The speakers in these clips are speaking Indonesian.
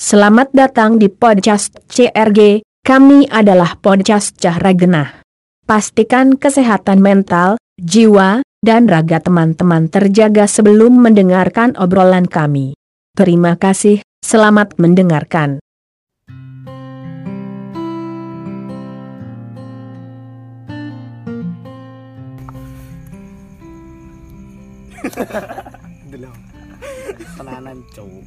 Selamat datang di podcast CRG, kami adalah podcast Cahra Genah. Pastikan kesehatan mental, jiwa, dan raga teman-teman terjaga sebelum mendengarkan obrolan kami. Terima kasih, selamat mendengarkan. Delok. Tenanan cowok.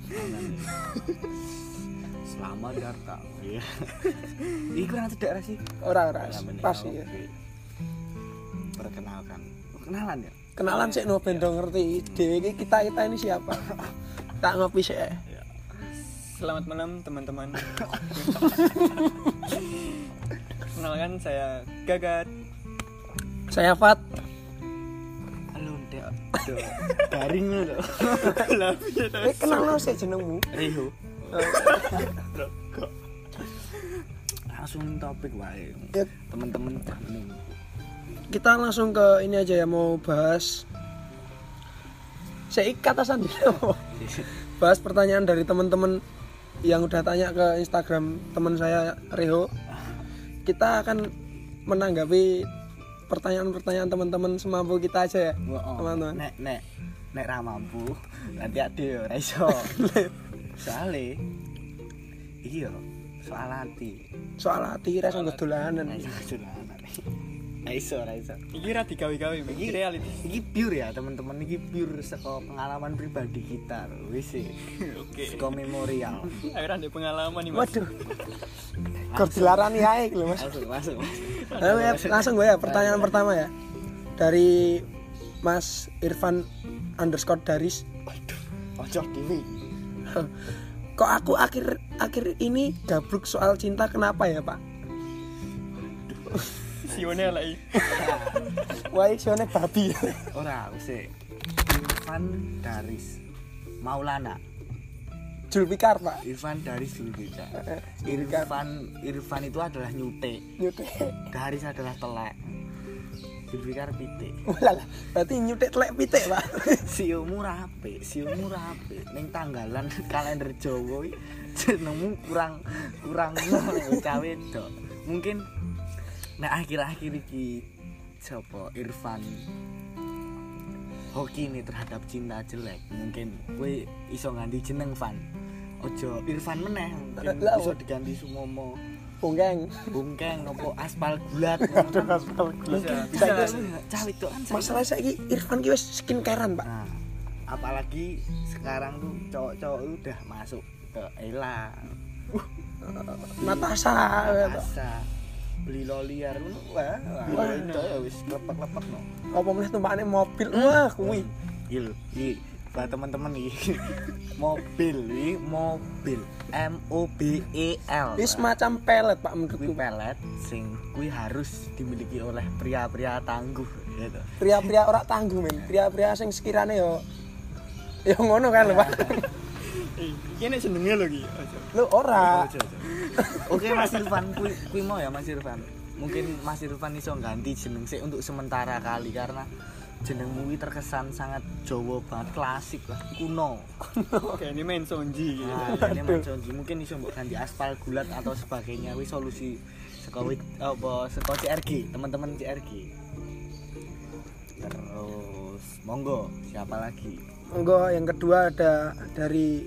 Selamat datang. Iya. Iku nang cedek ra sih? Ora pas ya. Perkenalkan. Kenalan ya? Kenalan sik no ben do ngerti ide kita ini siapa. Tak ngopi sik. Ya. Selamat malam teman-teman. Kenalkan saya Gagat. Saya Fat. Halo, Dek. Garing lho. Kenal lo sik jenengmu. Riho. Langsung topik wae. Ya. Teman-teman jamin. Kita langsung ke ini aja ya, mau bahas saya katasan dulu. Bahas pertanyaan dari teman-teman yang udah tanya ke Instagram teman saya Riho. Kita akan menanggapi pertanyaan-pertanyaan teman-teman semampu kita aja ya, teman-teman. Nek ra mampu, nanti ade ora iso. Soale iki yo soal hati ra sanggo dolanan. Iso. Iki ra digawe-gawe, iki reality. Iki pure ya, teman-teman, iki pure saka pengalaman pribadi kita lho, wis. Oke. Saka memorial. Ayo ra ndek pengalaman nih, Mas. Waduh. Kok dilarani ae lho, Mas. Masuk. Langsung gue ya, pertanyaan pertama ya. Dari Mas Irfan _Daris. Waduh, ojo dhewe. Kok aku akhir ini gabruk soal cinta, kenapa ya, Pak? Sione lagi. Wah, sione babi. Ora, wis. Irfan Daris Maulana. Julfikar, Pak. Irfan Daris Julfikar. Irfan itu adalah nyute. Daris adalah telek. Julfikar pitik. Walah, berarti nyutik telek pitik, Pak. Siomu rapi. Ning tanggalan kalender Jawa iki jenengmu kurang nek cawe wedok. Mungkin nek akhir-akhir iki sapa Irfan hoki nih terhadap cinta jelek, mungkin kowe iso ganti jeneng Van. Ojo Irfan meneh, iso diganti Sumomo. Bungkeng nopo aspal gulat. Bisa cawit tuh kan. Masalah saiki Irfan ki wis skincarean, Pak. Nah, apalagi sekarang tuh cowok-cowok udah masuk ke Ella. Natasha. Beli loliar ngono. Wah, itu ya wis lepek-lepek no. Apa meneh tumpakane mobil. Wah, kuwi. Iki buat teman-teman iki. Mobil MOBEL. Ini semacam pelet, Pak, menurutku. Kuwi pelet sing kuwi harus dimiliki oleh pria-pria tangguh gitu. Pria-pria ora tangguh, men. Pria-pria sing sekirane yo ngono kan lho, Pak. Iki nek jenenge lho iki. Lho ora. Oke, Mas Irfan, kuwi mau ya Mas Irfan. Mungkin Mas Irfan iso ganti jeneng sik untuk sementara kali karena jenengmu iki terkesan sangat Jawa banget, klasik lah, kuno. Kayak ini main sonji gitu. Ini main sonji, mungkin iso mbok ganti aspal gulat atau sebagainya. Wis solusi saka CRG, teman-teman CRG. Terus monggo, siapa lagi? Monggo yang kedua ada dari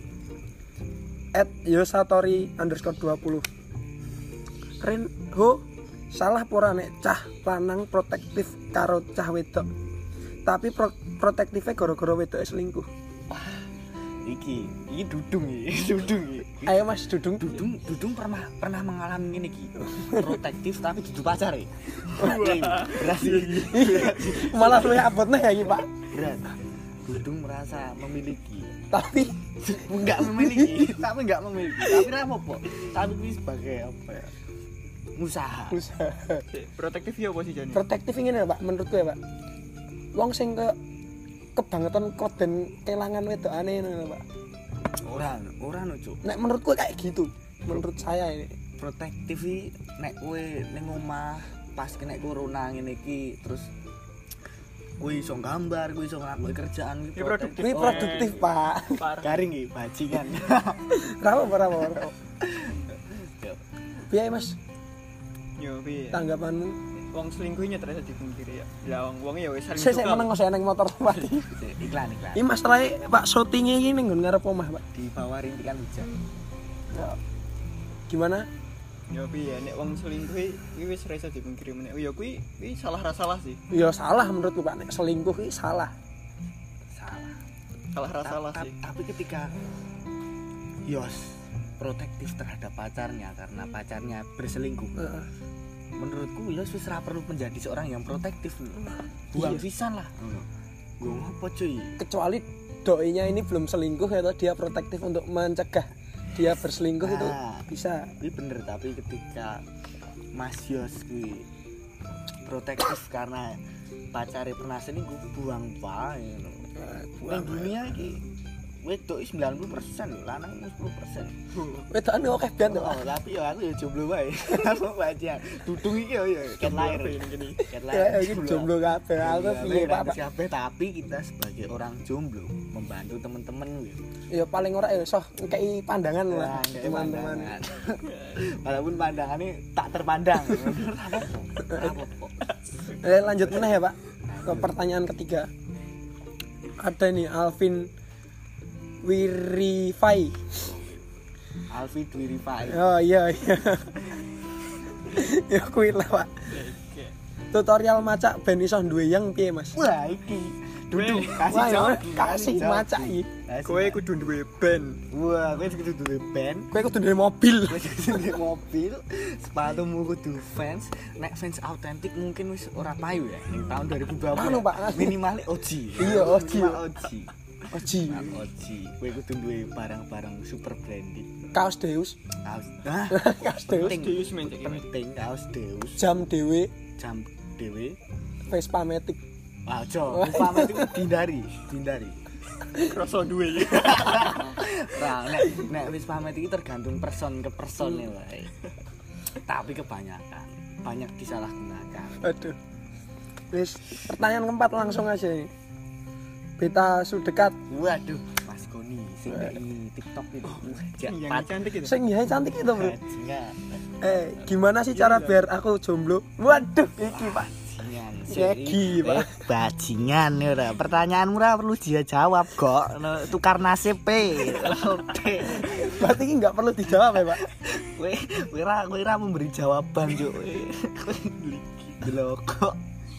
@yosatori_20. Renho, salah pura nek cah lanang protektif karo cah wedok. Tapi protektifnya gara-gara wedoke selingkuh. Wah, iki dudung iki. Ayo Mas Dudung pernah mengalami ini iki. Protektif tapi dudu pacar ya. Berarti malah luwih abotne ya iki, Pak. Berat. Dudung merasa memiliki tapi enggak memiliki. Tapi ra apa-apa. Tapi ini sebagai apa ya? Usaha. Protektif ya apa sih Jani? Protektif ngene, Pak, menurutku ya, Pak. Wong sing kebangetan koden kelangan wedokane ngono, Pak. Ora no, Cuk. Nek menurutku kayak gitu. Menurut saya ini. Protektif iki nek kowe ning omah pas kena corona ngene iki terus kuwi iso gambar, kuwi iso ngelakuin kerjaan Ini produktif. Kuwi produktif, Pak. garing iki bajingan. Rapo. Piye, Mas? Yo piye? Tanggapanmu? Wong selingkuhnya terasa dipungkiri ya. Lah wong ya wis saling Saya meneng kok nang motor mati. Iklan. Iki Mas Rai, Pak syutinge iki ning nggon ngarep omah, Pak. Di bawah rintikan hujan. Gimana? Yo piye nek wong selingkuh iki wis ora iso dipungkiri meneh. Ya kuwi salah ra salah sih. Ya salah menurutku, Pak. Nek selingkuh iki salah. Salah ra salah sih. Tapi ketika Yos protektif terhadap pacarnya karena pacarnya berselingkuh. Menurutku Yos wis ora perlu menjadi seorang yang protektif. Buang pisan lah. Gue ngopo cuy? Kecuali doinya ini belum selingkuh atau dia protektif untuk mencegah dia berselingkuh itu bisa. Ini bener, tapi ketika Mas Yos kuwi protektif karena pacarnya pernah selingkuh, buang wae ngono. Buang dunia iki wedok 90% lho, lanang 10%. Wedokane oke banget. Oh, tapi ya aku ya jomblo wae. Aku baca. Dudung iki ya ket lahir ngene. Ket Ya iki jomblo kabeh. Aku piye, Pak? Kabeh, tapi kita sebagai orang jomblo membantu teman-teman gitu. Ya paling ora ya iso ngekei pandangan lah teman-teman. Walaupun pandangannya tak terpandang. Lanjut meneh ya, Pak. Ke pertanyaan ketiga. Ada nih Alvin Wirifai. Alvin Wirifai. Oh iya. Ya kuwi lah, Pak. Tutorial macak ben iso duwe yang piye, Mas? Wah, iki duduk kasih macak iki. Kowe kudu duwe band. Wah, kowe kudu duwe band. Kowe kudu duwe mobil. Kowe kudu duwe mobil. Sepatumu kudu Vans. Nek Vans autentik mungkin wis ora payu ya ning tahun 2020. Anu, Pak. Minimal Oji. Iya, Oji. Oji. Kowe kudu duwe barang-barang super branded. Kaos Deus. Kaos Deus. Deus mencek. Penting kaos Deus. Jam dhewe. Vespa Matic. Aja, pamit itu dihindari. Kroso duwe. Nah, nek wis pamit iki tergantung person ke person ya wae. Tapi kebanyakan banyak disalahgunakan. Aduh. Wis, pertanyaan keempat langsung aja nih. Beta Sudekat. Waduh, Mas Goni sing ini TikTok itu. Yang cantik itu. Sing cantik itu, Bro. Enggak. Gimana sih cara biar aku jomblo? Waduh, iki, Pak. Segi, Pak. Bajingan ya ora. Pertanyaanmu ora perlu dia jawab kok. Tukar nasib pe. Berarti ini enggak perlu dijawab ya, Pak. Kowe ora memberi jawaban, Cuk. Delok kok.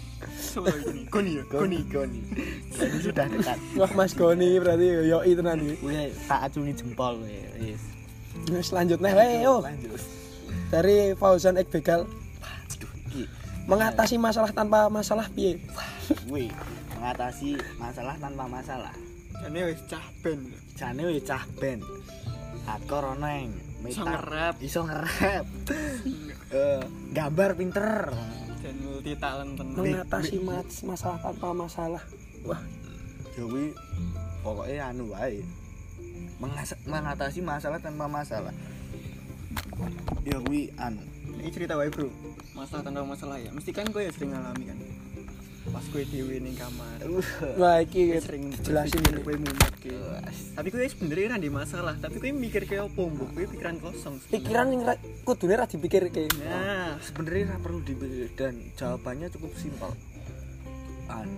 Goni. Jadi sudah dekat. Wah, Mas Goni berarti yoi tenan iki. Kowe tak acungi jempol kowe. Wis. Wis lanjut neh wae yo. Lanjut. Dari Fauzan Ekbegal. Aduh, iki mengatasi masalah tanpa masalah piye? Wih, mengatasi masalah tanpa masalah. Jane wis cah band. Akor ono ing iso ngerap. Gambar pinter. Dan multi talent tenan. Mengatasi masalah tanpa masalah. Wah, ya kuwi pokoke anu wae. Mengatasi masalah tanpa masalah. Ya kuwi anu. Ini cerita wae, Bro. Masalah tanpa masalah ya. Mesti kan kowe ya sering ngalami kan. Pas kowe dhewe ning kamar. Wah, iki sering jelasin ini kowe mumet ki. Tapi kowe sebenarnya ra ndek masalah, tapi kowe mikir kayak opo, Mbok? Kowe pikiran kosong. Pikiran yang kudune ra dipikirke. Nah, sebenarnya ra perlu dipikir dan jawabannya cukup simpel. Anu.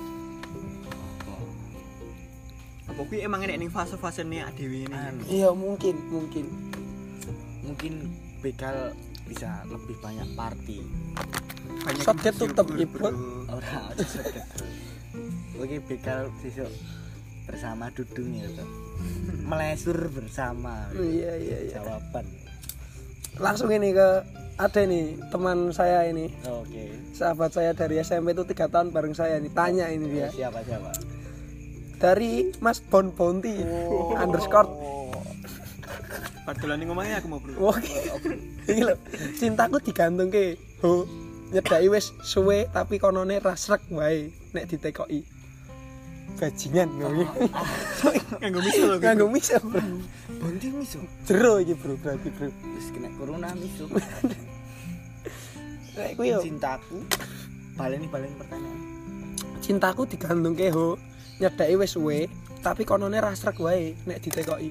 Apa kuwi emang enek ning fase-fasene dhewe ini? Iya, mungkin. Mungkin bekal bisa lebih banyak party. Soket tutup ibu. Ora soket. Oke, bekal besok bersama Dudung ya toh. Melesur bersama. Iya. Jawaban. Langsung ini ke ada nih teman saya ini. Oke. Sahabat saya dari SMP itu 3 tahun bareng saya nih. Tanya ini dia. Siapa? Dari Mas Bon Bounty _ Padahal ning omahnya aku mau, Bro. Oke. Iki lho, cintaku digantung ke. Ho, nyedaki wis suwe tapi konone rasrek wae nek ditekoki. Bajingan ngono. Nganggo miso. Bounty miso. Jero iki, Bro, berarti, Bro. Wis kena corona miso. Nek kuwi yo cintaku. Baleni pertanyaan. cintaku digantungke ho nyedaki wis suwe tapi konone ra srek wae nek ditekoki.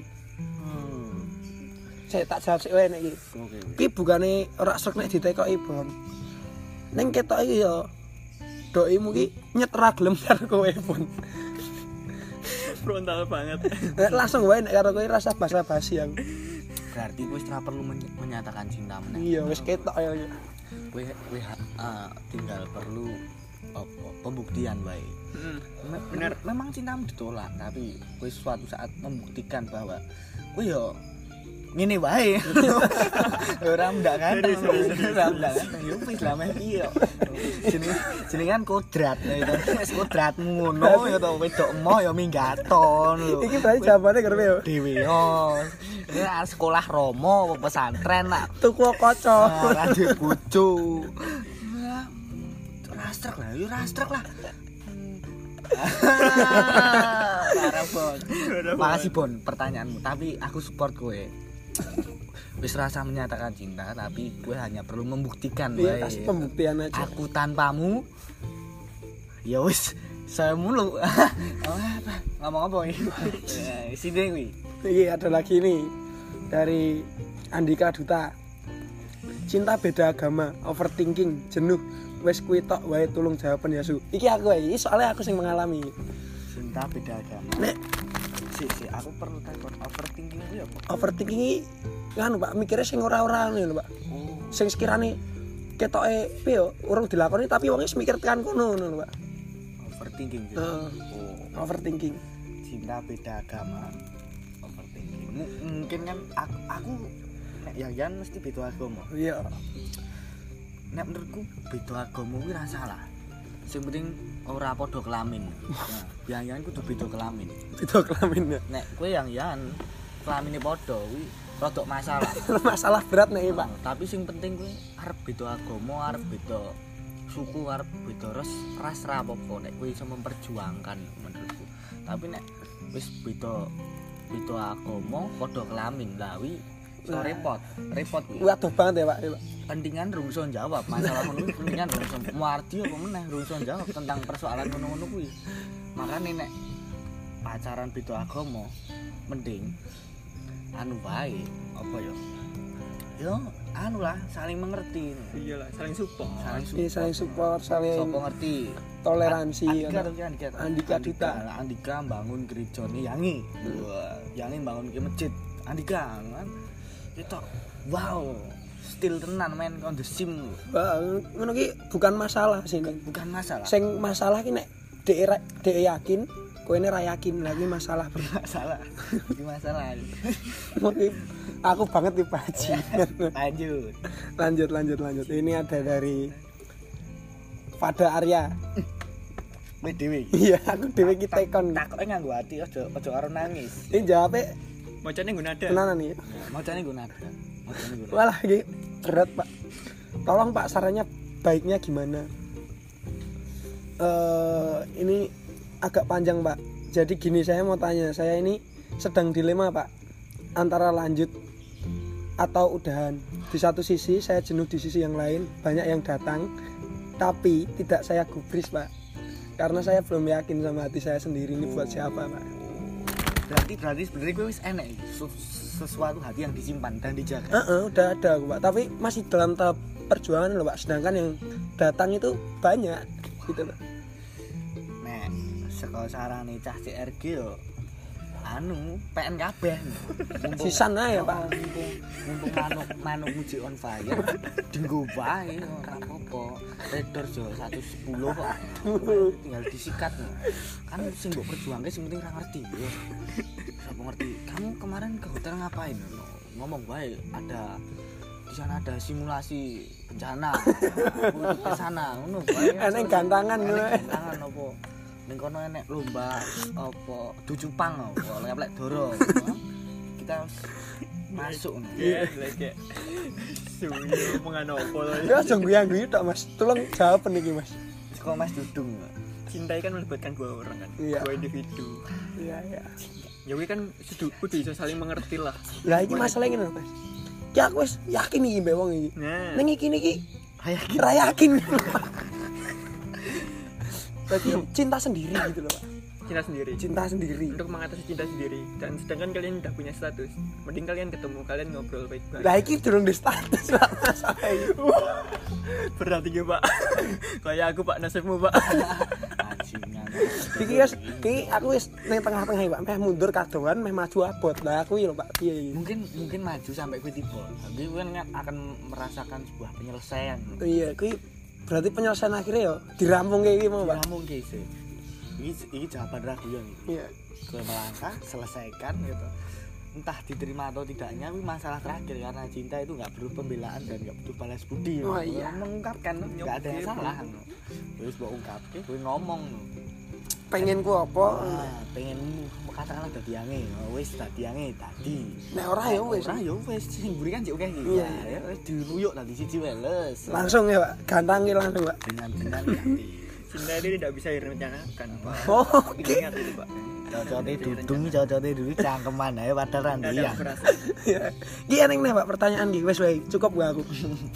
Saya tak jawab sik wae nek iki. Oke. Ki bukane ora srek nek ditekoki, Bon. Ning ketok iki ya doimu ki nyet ra gelem karo kowe, Bon. Frontal banget. Langsung wae nek karo kowe rasa basa-basi aku. Berarti kowe ora perlu menyatakan cinta meneh. Iya, wis ketok ya. Kowe tinggal perlu pembuktian wae. Bener. Memang cintamu ditolak, tapi kowe suatu saat membuktikan bahwa kowe yo ngene wae. Ora ndak kan. Ora ndak kan. Yo wis lah meh piye. Jenengan kodrat ya itu. Wis kodratmu ngono ya to wedok emoh ya minggaton lho. Iki berarti jawabane kerep yo. Dewe yo. Ya sekolah Romo apa pesantren nak Tuku kaca. ora duwe bojo. Rastrek lah. Parah Bon. Makasih Bon pertanyaanmu, tapi aku support kowe. Wis rasa menyatakan cinta, tapi gue hanya perlu membuktikan Iya, wae. kasih pembuktian aja. Aku tanpamu ya wis saya mulu. Ngomong apa ini? Sini kuwi. Iya, ada lagi nih dari Andika Duta. Cinta beda agama, overthinking, jenuh. Wes kuwi tok wae tulung jawaban Yasu. Iki aku wae, iki soalnya aku sing mengalami. Cinta beda agama. Nek Si aku perlu takon overthinking itu ya apa? overthinking iki nganu Pak, mikirnya sing ora-ora ngono lho Pak. Oh, Sing sekirane ketoke piye yo urung dilakoni tapi wong wis mikir tekan kono ngono lho Pak. overthinking gitu. Heeh. Oh, Overthinking. cinta beda agama. Overthinking. Mungkin kan aku nek Yan mesti beda agama. Iya. Nek menurutku beda agama kuwi ra salah. Sing penting ora padha kelamin. Nah, yang kudu beda kelamin. Beda kelamin ya. Nek kowe yang kelamine padha kuwi rada masalah. Masalah berat nek iki, Pak. Tapi sing penting kowe arep beda agama, arep beda suku, arep beda ras ra apa-apa nek kowe iso memperjuangkan menurutku. Tapi nek wis beda agama, padha kelamin, lah kuwi iso repot kuwi. Waduh banget ya, Pak. Ya, Pak. Pentingan rungso jawab masalah ngono kuwi pentingan rungso muardi apa meneh rungso jawab tentang persoalan ngono-ngono kuwi. Makane nek pacaran beda agama mending anu wae apa ya? Yo anu lah saling mengerti. Iyalah, saling support. Iya, saling support, saling Sopo ngerti toleransi. Andika Duta. Andika bangun gerejane Yangi. Wah, Yangi bangun ke masjid. Andika kan. Itu wow, still tenan men on the sim. Wah, ngono ki bukan masalah sih. Bukan masalah. Sing masalah ki nek dhek yakin, koene ra yakin lagi masalah. Masalah. Iki masalah. Mungkin aku banget nih Pak Haji. Lanjut. Ini ada dari Fada Arya. Kowe dhewe. Iya, aku dhewe ki tekon. Takoke nganggo ati aja karo nangis. Ini jawabnya Macane nggo nada. tenanan nih. Macane nggo nada. Walah iki berat Pak. Tolong Pak sarannya baiknya gimana? Ini agak panjang Pak. Jadi gini saya mau tanya, saya ini sedang dilema Pak antara lanjut atau udahan. Di satu sisi saya jenuh, di sisi yang lain banyak yang datang, tapi tidak saya gubris Pak. Karena saya belum yakin sama hati saya sendiri ini buat siapa Pak. Berarti sebenarnya gue wis enek sesuatu hati yang disimpan dan dijaga. Udah ada aku Pak, tapi masih dalam tahap perjuangan loh Pak. Sedangkan yang datang itu banyak gitu Pak. Nek saka sarane cah CRG yo anu PN kabeh. Sisan ae Pak. Mumpung manuk muji on fire, dinggo wae ora apa-apa. Redor jo 110 kok. Tinggal disikat. Kan sing mbok perjuangke sing penting ra ngerti. Yo. Siapa ngerti? Kamu kemarin ke hotel ngapain? Ngomong wae ada di sana ada simulasi bencana. Ke sana ngono wae. Enek gantangan Gantangan opo? Ning kono enek lomba apa ducupang apa lek doro. Kita masuk ngono. Iya, lek suyu mengano opo to. Ya aja guyu-guyu tok Mas. Tolong jawab niki Mas. Saka Mas Dudung. Cinta kan melibatkan dua orang kan, Iya. dua individu. Iya. Ya kuwi kan kudu iso saling mengerti lah. Lah iki masalah ngene Mas. Ki aku wis yakin iki mbek wong iki. Nah, Ning iki niki Yakin. ra yakin. Berarti cinta sendiri gitu loh, Pak. cinta sendiri Untuk mengatasi cinta sendiri. Dan sedangkan kalian udah punya status, mending kalian ketemu, kalian ngobrol baik-baik. Lah iki durung di status lah masalah iki. Berat iki Pak. Kayak aku Pak, nasibmu Pak. Bajingan. Iki aku wis ning tengah-tengah Pak, meh mundur kadoan, meh maju abot. Lah aku iki lho Pak, piye iki? Mungkin maju sampai kowe tiba. Tapi kowe kan akan merasakan sebuah penyelesaian. Iya, kuwi berarti penyelesaian akhirnya ya dirampung kayak iki mau Pak. Kamu sih. Ini jawaban ragu yang ini. Iya. Kowe melangkah, selesaikan gitu. Entah diterima atau tidaknya, ini masalah terakhir karena cinta itu nggak perlu pembelaan dan nggak butuh balas budi. Oh iya. Mengungkapkan nggak ada yang salah. Terus mau ungkap, kowe ngomong. Pengen ku apa? Pengen katakanlah dadi ange, wis dadi ange tadi. Nek ora ya wis. Ora ya wis sing mburi kan jek akeh iki. Iya. Ya wis diruyuk tadi siji weles. Langsung ya Pak, gantangi langsung Pak. Dengan hati. Cinta itu tidak bisa direncanakan Pak. Oh, Ingat itu Pak. Cocote dudung, cocote dulu cangkeman ae padahal ra Tidak ada ndiyang. perasaan. iya. Iki eneng nih Pak pertanyaan iki wis wae, cukup gak aku.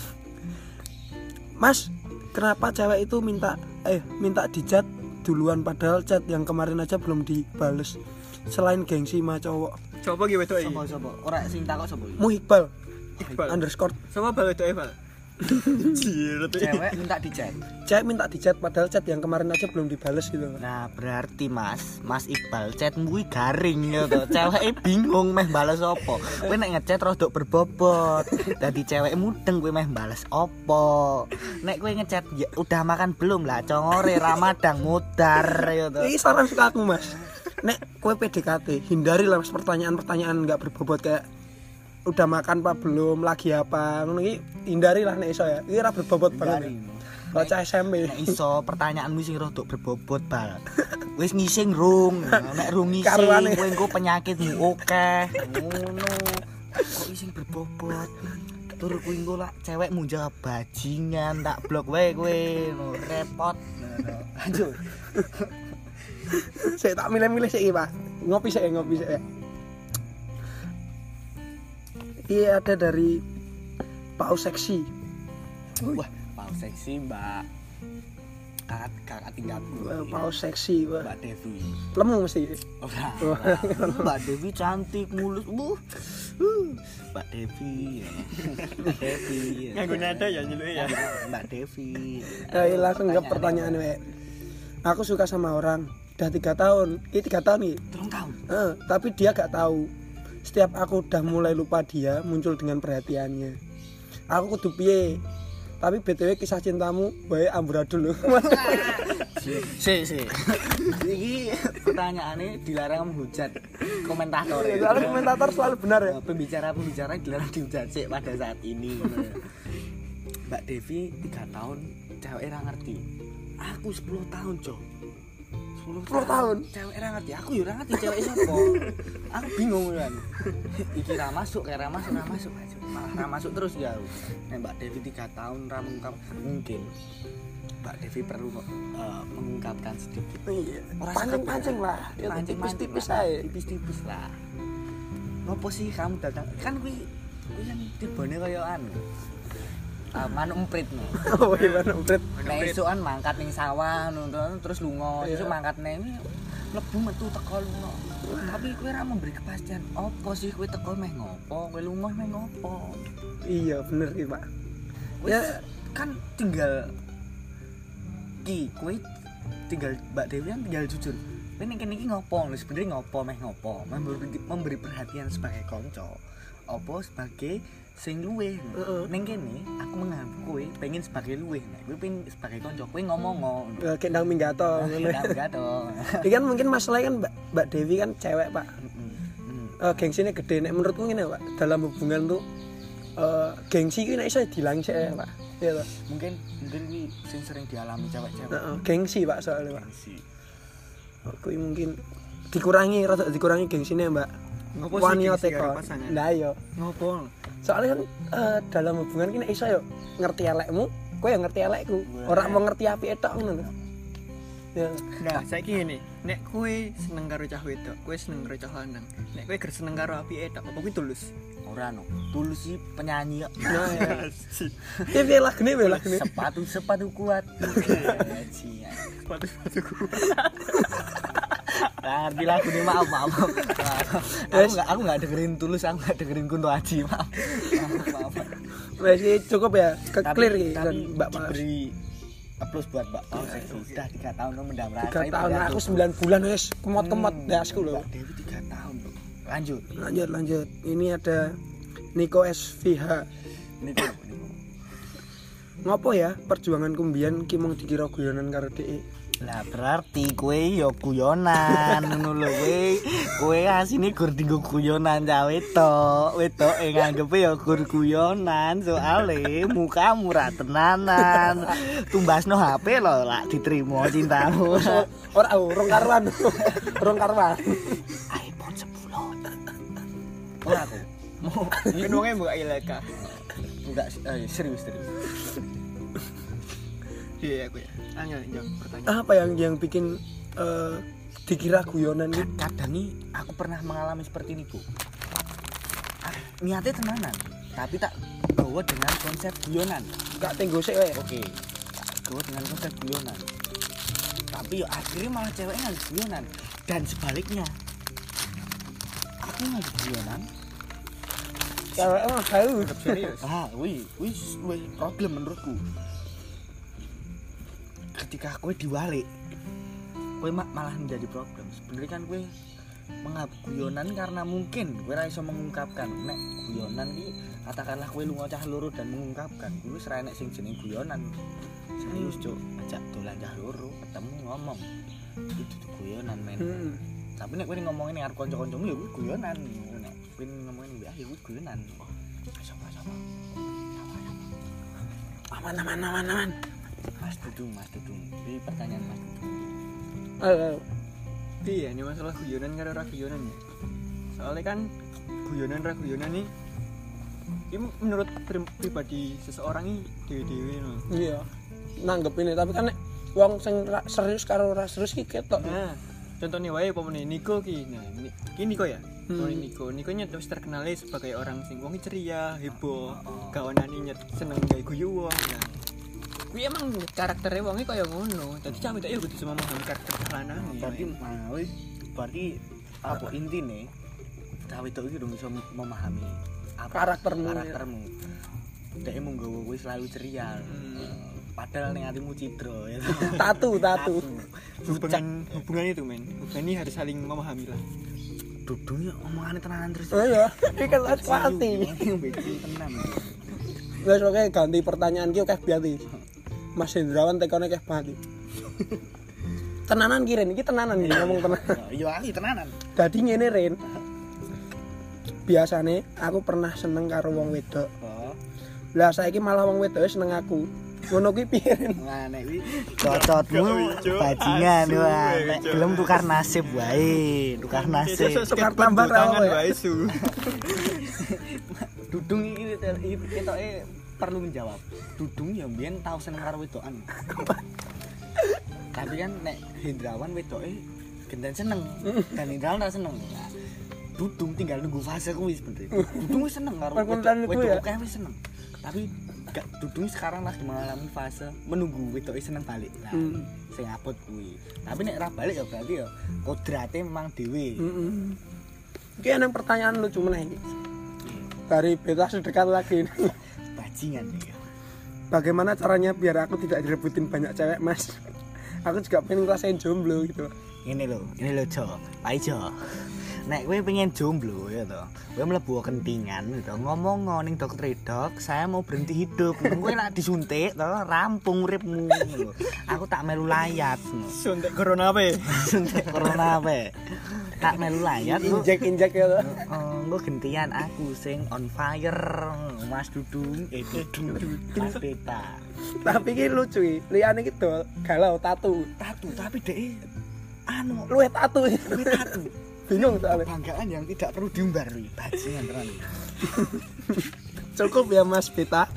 Mas, kenapa cewek itu minta dijat duluan padahal chat yang kemarin aja belum dibales? Selain gengsi mah cowok. Coba gitu iki. Sopo? Ora sing takok sopo iki? Muhibal Iqbal. underscore Sama bal itu Eval. Jir tuh. Cewek minta dicek. cewek minta dijat padahal chat yang kemarin aja belum dibales gitu. Nah, berarti Mas Iqbal chatmu kuwi garing ya to. Ceweke bingung meh bales opo. Kowe nek ngechat rodok berbobot. Dadi cewek mudeng kowe meh bales opo. Nek kowe ngechat ya, udah makan belum lah congore Ramadang mudar ya to. Ini saran suka aku Mas. Nek kowe PDKT, hindari lah Mas pertanyaan-pertanyaan enggak berbobot kayak udah makan apa belum, lagi apa. Ngono iki hindari lah nek iso ya. Iki ora berbobot banget. Bocah SMP. Nek iso pertanyaanmu sing rodok berbobot bal. Wis ngising rung. Nek rung ngising Karuane. kowe engko penyakitmu akeh. Ngono. Kok ising berbobot. Tur kowe engko lak cewekmu jawab bajingan tak blok wae kowe. Repot. Lanjut. Saya tak milih-milih sih Pak. Ngopi sih. Iya ada dari Pau Seksi. Wah, pau seksi Mbak. Kakak tingkatku. Pau Seksi, Pak. Mbak Devi. Lemu mesti. Ora. Mbak Devi cantik mulus. Mbak Devi. Mbak Devi. Nganggo nada ya nyeluk ya. Mbak Devi. Langsung ke pertanyaan we. Aku suka sama orang udah 3 tahun. Ini 3 tahun nih. 3 tahun. Tapi dia gak tahu. Setiap aku udah mulai lupa dia muncul dengan perhatiannya. Aku kudu piye? Tapi BTW kisah cintamu bae amburadul lho. Si. Iki pertanyaannya dilarang menghujat komentator. Soalnya komentator selalu benar ya. Pembicara dilarang dihujat sih pada saat ini. Mbak Devi 3 tahun cewek ora ngerti. Aku 10 tahun, Cok. 10 tahun. Cewek ora ngerti. Aku yo ora ngerti cewek sapa. Aku bingung kan. Iki ra masuk, kayak ra masuk. Malah ra masuk terus ya. Nek Mbak Devi 3 tahun ra mengungkap, mungkin Mbak Devi perlu mengungkapkan sedikit. Iya. Ora Pancing-pancing lah. Ya tipis-tipis ae. Tipis-tipis lah. Ngopo sih kamu datang? Kan kuwi kan tibane kaya anu. Manuk emprit no. Oh iya manuk emprit. Nek esukan mangkat ning sawah ngono terus lunga, Iya. esuk mangkat neng mlebu metu teko lunga. Tapi kowe ora memberi kepastian. Apa sih kowe teko meh ngopo? Kowe lunga meh ngopo? Iya bener iki Pak. Wis Ya. kan tinggal kowe tinggal Mbak Dewi kan tinggal jujur. Kowe ning kene iki ngopo? Lho sebenarnya ngopo meh ngopo? Memberi perhatian sebagai kanca. Apa sebagai sing luweh. Ning kene aku menganggap kowe pengen sebagai luweh. Nek kowe pengen sebagai kanca, kowe ngomong ngono. Kendang minggato. Enggak dong. Iki kan mungkin masalahnya kan Mbak Dewi kan cewek Pak. Gengsinya gede. Nek menurutmu ngene Pak, dalam hubungan tuh gengsi iki nek iso dilang sik ya Pak. Iya toh. Mungkin kuwi sing sering dialami cewek-cewek. Gengsi Pak soalnya Pak. Gengsi. Kuwi mungkin dikurangi gengsine Mbak. Ngopo Wani sih teko. pasangan? Nah iya. Ngopo? Soalnya kan dalam hubungan ki nek iso yo ngerti elekmu, kowe yo ngerti elekku. Ora mau ngerti apike tok ngono lho. Ya. Nah, saiki ngene, nek kowe seneng karo cah wedok, kowe seneng karo cah lanang. Nek kowe ger seneng karo apike tok, apa kuwi tulus? Ora no. Tulus sih penyanyi kok. Piye lagune piye lagune? Sepatu kuat. Sepatu kuat. Nah, ngerti lagu ini maaf. Aku enggak dengerin Tulus, aku enggak dengerin Kunto Aji, maaf. Wes cukup ya, clear iki kan Mbak Mas. Beri applause buat Mbak Paul. Sudah 3 tahun lo mendam rasa. 3 tahun aku 9 bulan wes kemot-kemot dasku lho. Dewi 3 tahun loh. Lanjut. Ini ada Niko SVH. Niko. Ngopo ya perjuangan kumbian ki mung dikira guyonan karo dhek. Lah berarti kowe ya guyonan ngono lho kowe asine gur dienggo guyonan cah wedok nganggepe ya gur guyonan soale mukamu ra tenanan tumbasno HP lho lak diterima cintamu urung karuan iPhone 10 ora aku Kan wonge mbok ilaka. Enggak serius. Iya aku ya. Angel jawab pertanyaan. Apa yang bikin dikira guyonan gitu? Kadang nih aku pernah mengalami seperti ini, Bu. Niatnya tenanan, tapi tak bawa dengan konsep guyonan. Gak tenggo sik wae. Oke. Bawa dengan konsep guyonan. Tapi yo akhirnya malah ceweknya nggak guyonan dan sebaliknya. Aku nggak guyonan. Cewek mah tahu. Serius. Wih, problem menurutku. Ketika kowe diwalik, kowe malah menjadi problem. Sebenarnya kan kowe menganggap guyonan karena mungkin kowe ora iso mengungkapkan. Nek guyonan iki katakanlah kowe lunga cah loro dan mengungkapkan, kuwi wis ra enek sing jeneng guyonan. Serius, Cuk. Ajak dolan cah loro, ketemu ngomong. Itu dudu guyonan, men. Tapi nek kowe ngomongin ning arep kanca-kancamu ya kuwi guyonan. Nek kowe ngomongin mbak ya kuwi guyonan. Sama. Aman. Mas Dudung. Ini pertanyaan Mas Dudung. Iya, ini masalah guyonan karo ra guyonan ya. Soalnya kan guyonan ra guyonan nih ini menurut pribadi seseorang ini dewe-dewe no. Iya. Nanggep ini tapi kan nek wong sing serius karo ora serius ki ketok. Nah, contohnya wae pomone Niko ki. Nah, iki Niko ya. Niko nyet wis terkenal sebagai orang sing wong ceria, heboh, gawanane nyet seneng gawe guyu wong. Nah, kuwi emang karaktere wonge kaya ngono. Dadi cah wedok ya kudu bisa memahami karakter lanang. Berarti apa intine? Cah wedok iki dong iso memahami karaktermu. Dek mung nggawa kowe selalu ceria. Padahal ning atimu cidra ya. Tatu. Hubungan itu men. Hubungan ini harus saling memahami lah. Dudung ya omongane tenanan terus. Oh iya, iki kan pasti. Becil tenan. Wes oke ganti pertanyaan ki oke biati. Mas Hendrawan tekone keh banget. Tenanan ki Ren, iki tenanan iki ngomong tenan. Iya iki tenanan. Dadi ngene Ren. Biasane aku pernah seneng karo wong wedok. Lah saiki malah wong wedoke seneng aku. Ngono kuwi piye Ren? Nah nek kuwi cocotmu bajingan wah. Nek gelem tukar nasib wae, tukar nasib. Tukar tambah tangan wae su. Dudung iki ketoke perlu menjawab. Dudung ya mbiyen tau seneng karo wedokan. Tapi kan nek Hendrawan wedoke genten seneng dan Hendrawan ora seneng. Nah, Dudung tinggal nunggu fase kuwi sebenarnya. Dudung wis seneng karo wedoke wis seneng. Tapi Dudung sekarang lagi mengalami fase menunggu wedoke seneng balik. Nah, sing apot kuwi. Tapi nek ora balik ya berarti ya kodrate memang dhewe. Iki ana pertanyaan lucu meneh iki. Dari beta sedekat lagi ini. Bajingan ya. Bagaimana caranya biar aku tidak direbutin banyak cewek, Mas? Aku juga pengen ngerasain jomblo gitu. Ini lho Jo. Pak Jo. Nek kowe pengen jomblo ya to. Kowe mlebu kentingan gitu. Ngomong ning dokter dok, saya mau berhenti hidup. Kowe nek disuntik to rampung uripmu. Aku tak melu layat. Suntik corona apa? Suntik corona apa? Tak melu layat injek ya to. Engko gentian aku sing on fire. Mas Dudung, Mas Beta. Tapi iki lucu iki. Liyane iki dol galau tatu, tapi dhek luwe tatu. Bingung soalnya. Banggaan yang tidak perlu diumbar nih, bajingan tenan. Cukup ya Mas Beta.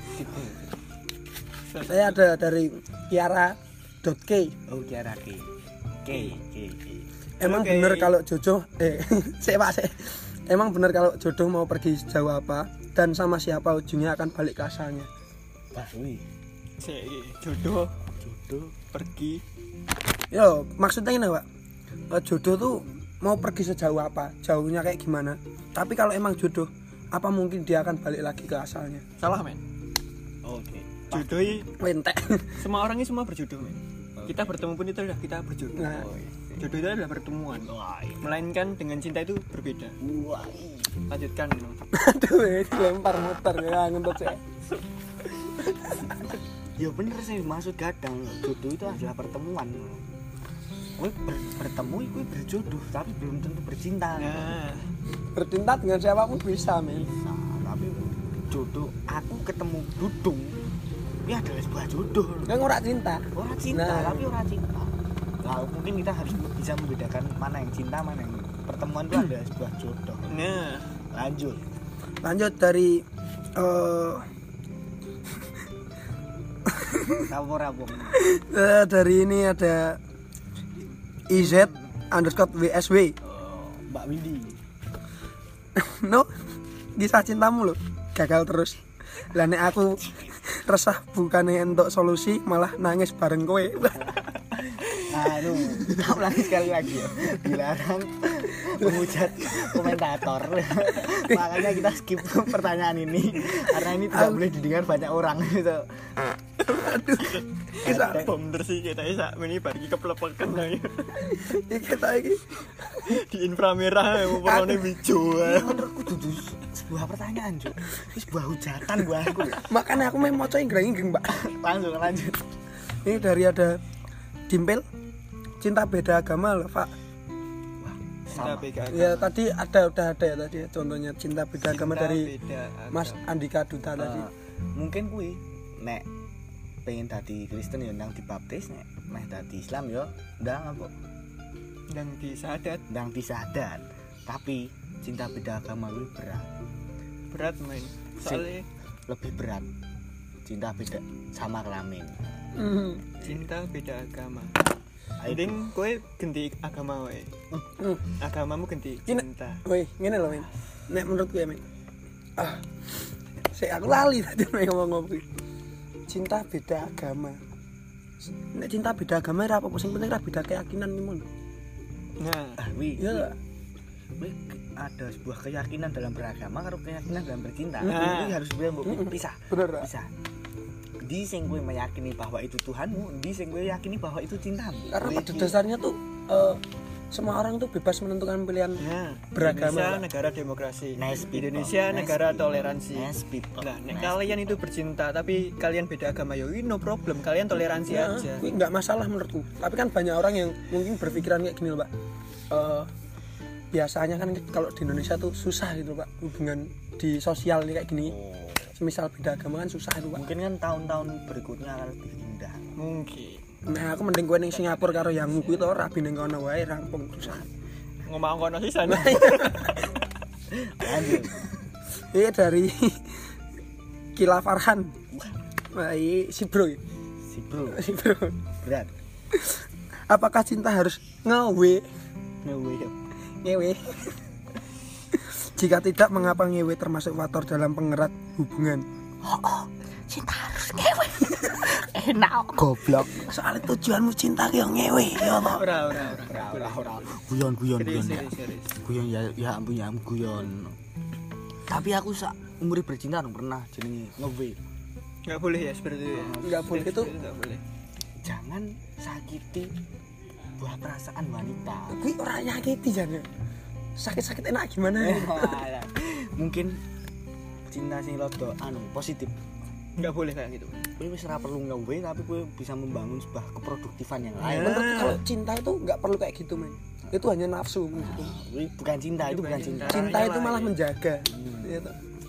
Saya ada dari Kiara.k. Oh Kiara K. Emang bener kalau Jojo sik. Emang benar kalau jodoh mau pergi sejauh apa dan sama siapa ujungnya akan balik ke asalnya? Wih. Jodoh pergi. Yo, maksudnya ini Pak. Jodoh tuh mau pergi sejauh apa? Jauhnya kayak gimana? Tapi kalau emang jodoh, apa mungkin dia akan balik lagi ke asalnya? Salah, men. Oke. Jodoh Wentek. semua orang ini semua berjodoh, men. Kita bertemu pun itu adalah kita berjodoh. Nah. Jodoh itu adalah pertemuan. Melainkan dengan cinta itu berbeda. Wah. Lanjutkan. Aduh, lempar muter ya ngentut saya. Ya bener sih, maksud kadang jodoh itu adalah pertemuan. Kowe bertemu iku berjodoh, tapi belum tentu bercinta. Nah, Bercinta dengan siapapun bisa, men. Nah, tapi jodoh aku ketemu Dudung. Ini adalah sebuah jodoh. Kan ora cinta. Orang cinta, Nah. tapi orang cinta. Nah, mungkin kita harus bisa membedakan mana yang cinta, mana yang pertemuan itu adalah sebuah jodoh. nah, Lanjut dari Rabong. dari ini ada IZ_WSW. Mbak Windy. No, kisah cintamu lo gagal terus. Lah nek aku resah bukannya untuk solusi malah nangis bareng kowe. Aduh, kamu lagi sekali lagi ya. Dilarang menghujat komentator. Makanya kita skip pertanyaan ini karena ini tidak boleh didengar banyak orang gitu. Kisah bener sih kita bisa ini bagi keplepekan lagi iki ta iki. di inframerah yang warnanya hijau. Menurutku itu sebuah pertanyaan, Cuk. Ini sebuah hujatan buat aku. Makanya aku mau maca inggreng-inggreng, Mbak. Lanjut. Ini dari ada Dimpel. Cinta beda agama loh, Pak. Cinta beda agama. Ya tadi udah ada ya tadi ya, contohnya cinta beda agama dari beda agama. Mas Andika Duta tadi. Mungkin kuwi nek pengen dadi Kristen ya ndang dibaptis, nek meh dadi Islam ya ndang apa? Ndang disadat. Ndang disadat. Tapi cinta beda agama kuwi Berat, men. Soalnya lebih berat. Cinta beda sama kelamin. cinta beda agama. Mending kowe ganti agama wae. Agamamu ganti cinta. Woi, ngene lho, men. Nek menurutku ya, men. Aku lali tadi ngomong apa. Cinta beda agama. Nek cinta beda agama ora apa-apa, sing penting ora beda keyakinan men. Nah, Wi. Iya. Wi ada sebuah keyakinan dalam beragama karo keyakinan dalam bercinta. Nah. Ini harus pisah. Bener. Bisa. Di sing kowe meyakini bahwa itu Tuhanmu, di sing kowe yakini bahwa itu cintamu. Karena pada dasarnya tuh semua orang tuh bebas menentukan pilihan beragama. Indonesia negara demokrasi. Nice people. Indonesia Nice negara people. toleransi. Nice people. Nah, nek Nice kalian itu bercinta tapi kalian beda agama ya no problem, kalian toleransi Ya, aja. ini nggak masalah menurutku. Tapi kan banyak orang yang mungkin berpikiran kayak gini loh, Pak. Biasanya kan kalau di Indonesia tuh susah gitu, Pak, hubungan di sosial nih kayak gini. Semisal beda agama kan susah itu, Pak. Mungkin kan tahun-tahun berikutnya akan lebih indah. Mungkin. Nah, aku mending kowe ning Singapura karo yang kuwi to rabi ning kono wae rampung susah. Ngomong kono sih sana. Lanjut. Ini dari Kila Farhan. Wah, si bro. Si bro. Si bro. Berat. Apakah cinta harus ngewe? Ngewe. Jika tidak, mengapa ngewe termasuk faktor dalam pengerat hubungan? Cinta harus ngewe. Enak goblok. Soalnya tujuanmu cinta ki yo ngewe, ya toh. Ora. Guyon. Serius. Guyon ya ampun ya guyon. Tapi aku sak umur bercinta dong pernah jenenge ngewe. Enggak boleh ya seperti itu ya. Enggak boleh itu. Enggak boleh. Jangan sakiti buah perasaan wanita. Kuwi ora nyakiti jane. Sakit-sakit enak gimana? Mungkin cinta sing rada positif. Enggak boleh kayak gitu. Kowe wis ora perlu ngewe tapi kowe bisa membangun sebuah keproduktifan yang lain. Menurutku kalau cinta itu nggak perlu kayak gitu, men. Itu hanya nafsu menurutku. Ini bukan cinta, itu bukan cinta. Cinta itu malah menjaga. Gitu.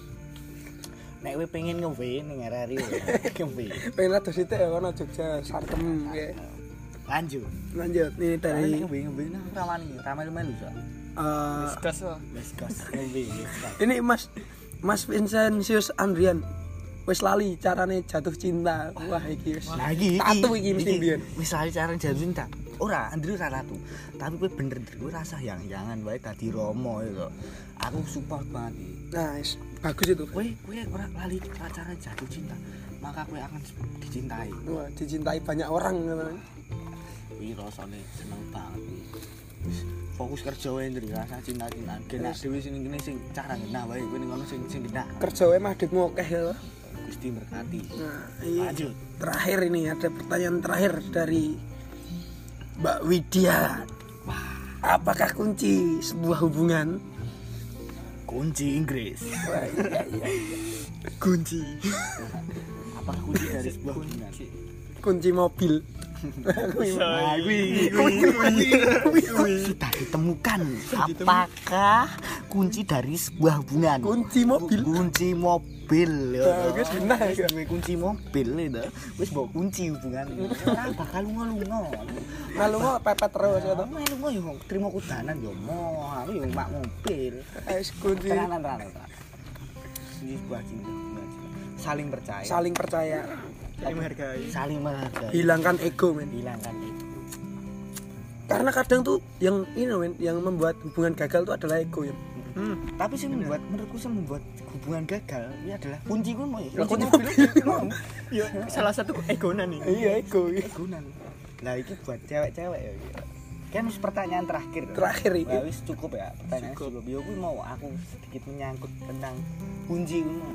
Nek kowe pengen ngewe ning RRI ngewe. Pengen atus itu ya kono Jogja Sarkem ya. Lanjut. Nih dari Ngewe nang rawani, ramai-ramai lho, Sok. Diskus loh. Wes gas ngewe. ini Mas Vincentius Andrian. Wis lali carane jatuh cinta. Wah iki wis. Lagi tatu iki mesti mbiyen. Wis lali cara jatuh cinta. ora Andri ora ratu tapi kowe bener kowe rasa yang-yangan wae dadi romo itu aku support banget iki. Nah bagus itu Kowe ora lali cara jatuh cinta maka kowe akan dicintai. wah dicintai banyak orang namanya. Iki rasane seneng banget iki. Fokus kerja wae Andri rasa cinta-cintaan genak dhewe sing ngene sing cara genah wae kowe ning ngono sing genah Kerja wae madhitmu akeh ya. Gusti berkati. Nah, iya. Lanjut. Terakhir ini ada pertanyaan terakhir dari Mbak Widya. Apakah kunci sebuah hubungan? Kunci Inggris. Iya. Kunci. Apa kunci dari sebuah hubungan? Kunci mobil. Sudah ditemukan. Apakah kunci dari sebuah hubungan? Kunci mobil. Kunci mobil. Bagus benar. Kunci mobil itu. Wis mbok kunci hubungan. Ora bakal lunga-lunga. Lalu pepet terus ya toh. Lunga yo trimo kudanan yo mo. Aku yo mak mobil. Wis kunci Tenanan. Ini sebuah cinta. Saling percaya. saling percaya. Saling menghargai. Hilangkan ego, men. Hilangkan itu. Karena kadang tuh yang ini men, yang membuat hubungan gagal tuh adalah ego ya. Tapi sih menurutku sih membuat hubungan gagal ini adalah kunci gue mau ya. Kunci mobil. Ya salah satu egonan nih. Iya ego. Gunan. Nah ini buat cewek-cewek ya. Kan pertanyaan terakhir. Terakhir ini. Nah, wis cukup ya pertanyaan cukup. Ya gue mau aku sedikit menyangkut tentang kunci gue.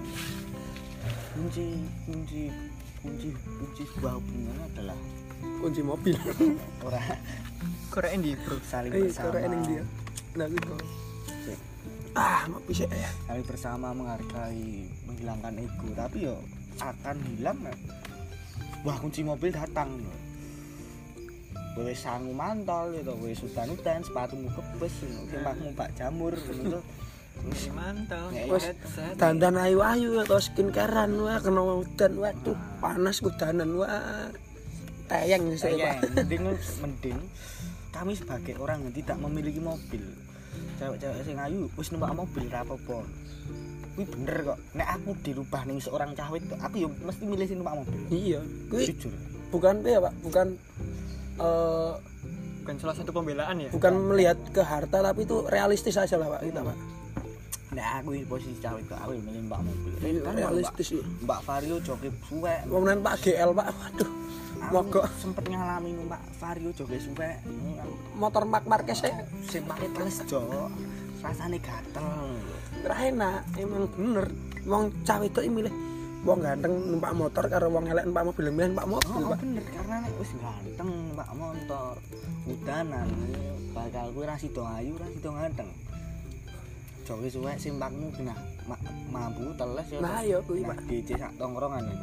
Kunci sebuah hubungan adalah Kunci mobil. orang Korek endi, Bro? saling Korek bersama. ening dia. Nah gitu. Mau bisa ya. Saling bersama menghargai, menghilangkan ego. Tapi yo akan hilang. Wah kunci mobil datang. Kowe sangu mantol gitu, kowe sudan-udan, sepatumu kebes, kemahmu Pak Jamur gitu. Kunci mantau. Wes dandan ayu-ayu atau skincarean wah kena udan waduh panas kudanan wah tayang saya Pak. Mending kami sebagai orang yang tidak memiliki mobil. Cewek-cewek sing ayu wis numpak mobil ra apa-apa. Kuwi bener kok. Nek aku dirubah ning seorang cawit kok, aku yo mesti milih sing numpak mobil. Iya kuwi Jujur. bukan ya Pak bukan Bukan salah satu pembelaan ya. bukan melihat ke harta tapi itu realistis aja lah Pak kita Pak. Nek aku di posisi cawit kok, aku yo milih numpak mobil. Realistis ya. Mbak Vario joget suwek. Kemudian Pak GL Pak waduh mogok sempet ngalami numpak Vario joget suwek. motor Mark Marquez saya Sing pakai teles jo. Rasane gatel. ora enak emang bener wong cawe itu milih wong ganteng numpak motor karo wong elek numpak mobil milih numpak mobil Oh, Pak. bener karena nek wis ganteng numpak motor udanan bakal kuwi ra sida ayu ra sida ganteng. Joge suwek simpakmu genah mampu teles ya. Nah, iya kuwi, Pak. DC sak tongkrongan iku.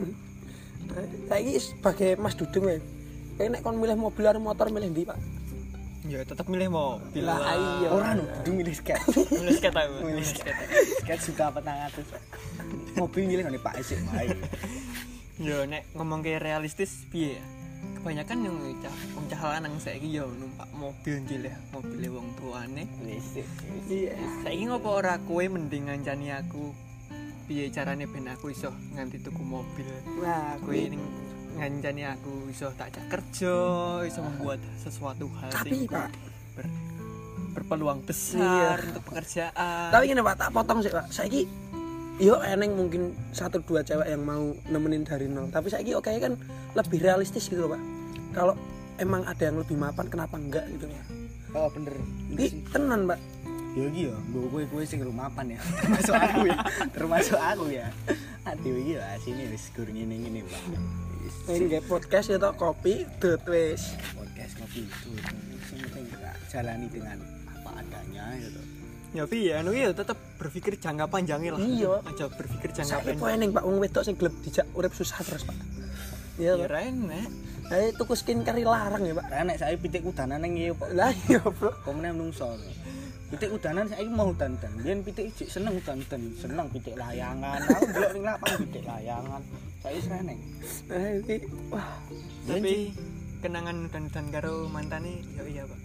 Saiki sebagai Mas Dudung ya. Nek kon milih mobil karo motor milih ndi Pak? Ya tetap milih mobil. Lah iya. Ora no, kudu milih sket. Milih sket aku. Milih sket. Sket suka 400. Mobil milih ngene Pak isik wae. Yo nek ngomong ke realistis piye ya? Kebanyakan yang cah lanang saiki yo numpak mobil nggih mobil wong tuane. Wis. Iya. Saiki ngopo ora kowe mending ngancani aku piye carane ben aku iso nganti tuku mobil. Nah, Kowe ning ngancani aku iso tak cak kerja, iso membuat sesuatu hal tapi Pak, berpeluang besar Iya. untuk pekerjaan. tapi gini Pak, tak potong sih Pak. Saiki yo eneng mungkin 1-2 cewek yang mau nemenin dari nol. Tapi saiki oke kan lebih realistis gitu loh Pak. Kalau emang ada yang lebih mapan kenapa enggak gitu ya. Oh bener. Iki tenan Pak. Ya iki ya, mbok kowe sing rumapan ya. Termasuk aku ya. Ati iki ya sini wis gur ngene-ngene, Pak. Ini nggak podcast ya toh kopi dot wis. Podcast kopi itu sing penting kita jalani dengan apa adanya gitu. Ya piye anu ya tetap berpikir jangka panjangnya lah. Iya. Aja berpikir jangka Saiki pendek. kok eneng Pak wong wedok sing gelem dijak urip susah terus Pak. Iya. Ya enak. Ayo tuku skincare larang ya Pak. Karena nek saiki pitik udanan ning ngeyo kok. Lah iya Bro. Komene menungso. Pitik udanan saiki mau udan-udan. Biyen pitik ijik seneng udan-udan, seneng pitik layangan. Aku delok ning lapangan pitik layangan. Saiki seneng. Nah iki wah Tapi kenangan dan karo mantane ya iya Pak.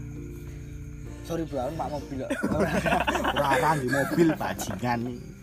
Sorry bro, aku Pak mobil kok. Ora di mobil bajingan.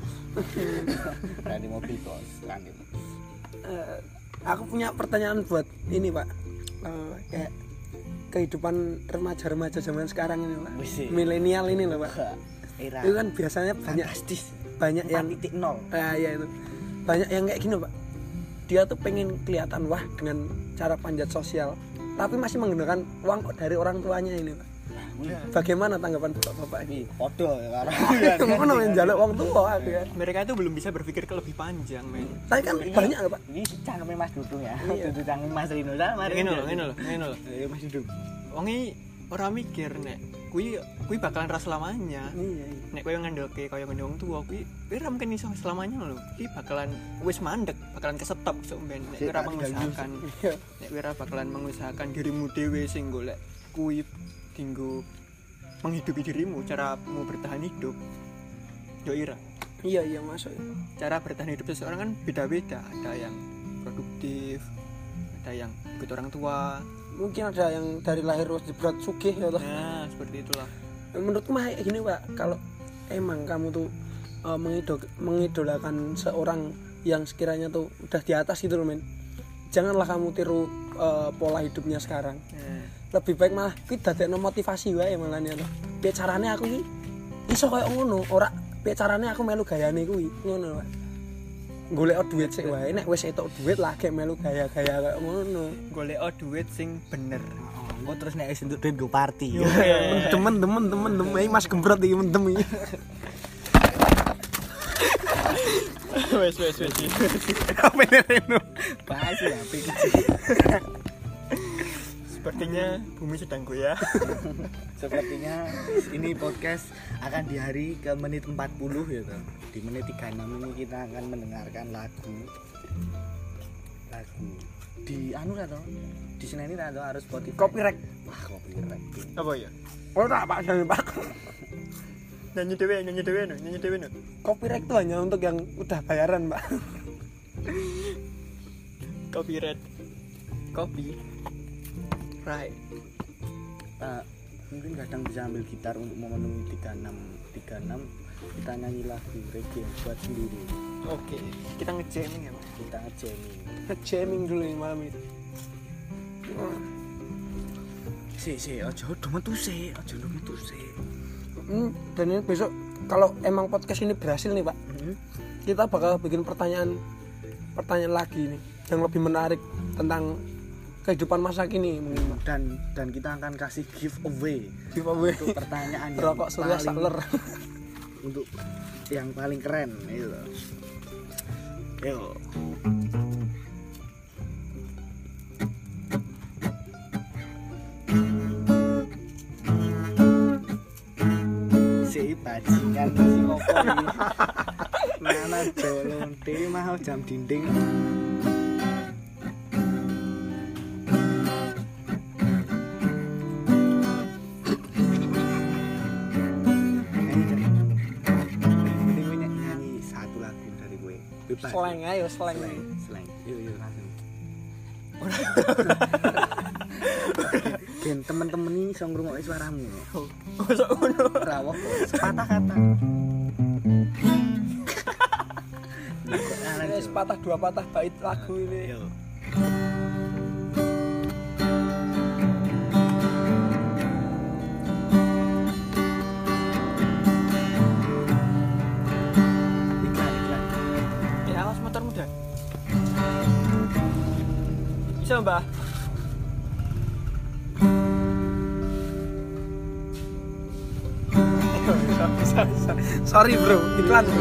Ora di mobil kok, kan. aku punya pertanyaan buat ini Pak. Kayak kehidupan remaja-remaja zaman sekarang ini Pak. Wis. Milenial ini loh Pak. Era Itu kan biasanya banyak yang 0.0. ya itu. Banyak yang kayak gini Pak. Dia tuh pengen kelihatan wah dengan cara panjat sosial, tapi masih menggunakan uang dari orang tuanya ini Pak. Bagaimana tanggapan Bapak ini? Podo ya karo. Ngono men njaluk wong tua aku ya. Mereka itu belum bisa berpikir ke lebih panjang, men. Tapi kan banyak Pak. Ini cangkeme Mas Dudung ya. Dudu cangkem Mas Rino dah mari. Ngene lho. Ya Mas Dudung. Wongi ora mikir nek kuwi bakalan ra selamanya. Iya. Nek koyo ngandelke koyo ngene wong tuwa kuwi ora mungkin iso selamanya lho. Kuwi bakalan wis mandek, bakalan kesetop sok ben nek ora mengusahakan. Nek ora bakalan mengusahakan dirimu dhewe sing golek kuwi tinggu menghidupi dirimu, caramu bertahan hidup. Yo ira. Iya masuk. Cara bertahan hidup seseorang kan beda-beda. Ada yang produktif, ada yang ikut orang tua. Mungkin ada yang dari lahir wis jebret sugih ya toh. Nah, seperti itulah. Menurutku mah gini Pak, kalau emang kamu tuh mengidolakan seorang yang sekiranya tuh udah di atas gitu loh men, janganlah kamu tiru pola hidupnya sekarang. Lebih baik malah kita dadekno motivasi wae malah nih loh. Piye carane aku iki iso koyo ngono, ora piye carane aku melu gayane kuwi ngono Pak. Golek duit sik wae, nek wis entuk duit lagi melu gaya-gaya koyo ngono. Golek duit sing bener. Engko terus nek wis entuk duit go party. Temen Mas Gembrot iki mendem iki. Wes. Apa Reno? Bahas ya pikir. Sepertinya bumi sedang goyah. Sepertinya ini podcast akan di hari ke menit 40 ya toh. Di menit 36 ini kita akan mendengarkan lagu di anu toh. Di sini toh harus Spotify. Copyright. Wah, copyright. Apa ya? Ora Pak, jangan Pak. Nyanyi dewe no. Copyright itu hanya untuk yang udah bayaran Pak. Copyright. Copy. Right. Mungkin kadang bisa ambil gitar untuk memenuhi 36 kita nyanyi lagu reggae buat sendiri. Oke, kita ngejamming ya Pak. Kita ngejamming. Jamming dulu ini malam ini. Aja metu sih. Dan ini besok kalau emang podcast ini berhasil nih Pak, kita bakal bikin pertanyaan lagi nih yang lebih menarik tentang kehidupan masa kini mungkin Pak. Dan kita akan kasih giveaway untuk pertanyaan yang rokok Surya Saler untuk yang paling keren itu. Yo. Si bajingan si opo iki. Mana jolong dhewe mau jam dinding. Slang ayo. Yuk langsung. Gen temen-temen ini iso ngrungokke suaramu. Mosok ngono. Rawuh sepatah kata. Sepatah dua patah bait lagu ini. Yo. Bisa Mbah. Sorry bro, iklan bro.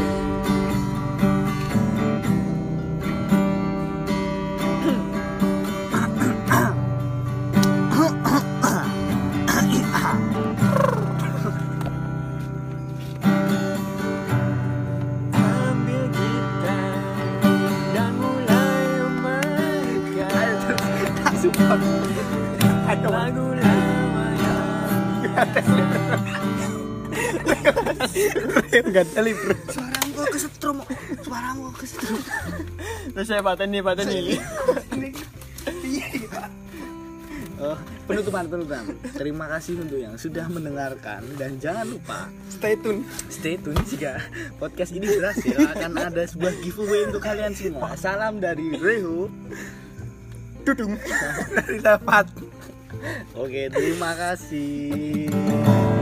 Lagu lama Enggak teli bro. Suaramu kesetrum. Terus saya pateni. Oh, penutupan. Terima kasih untuk yang sudah mendengarkan dan jangan lupa Stay tune jika podcast ini berhasil akan ada sebuah giveaway untuk kalian semua. Salam dari Reho. Dudung dari dapat Oke, terima kasih.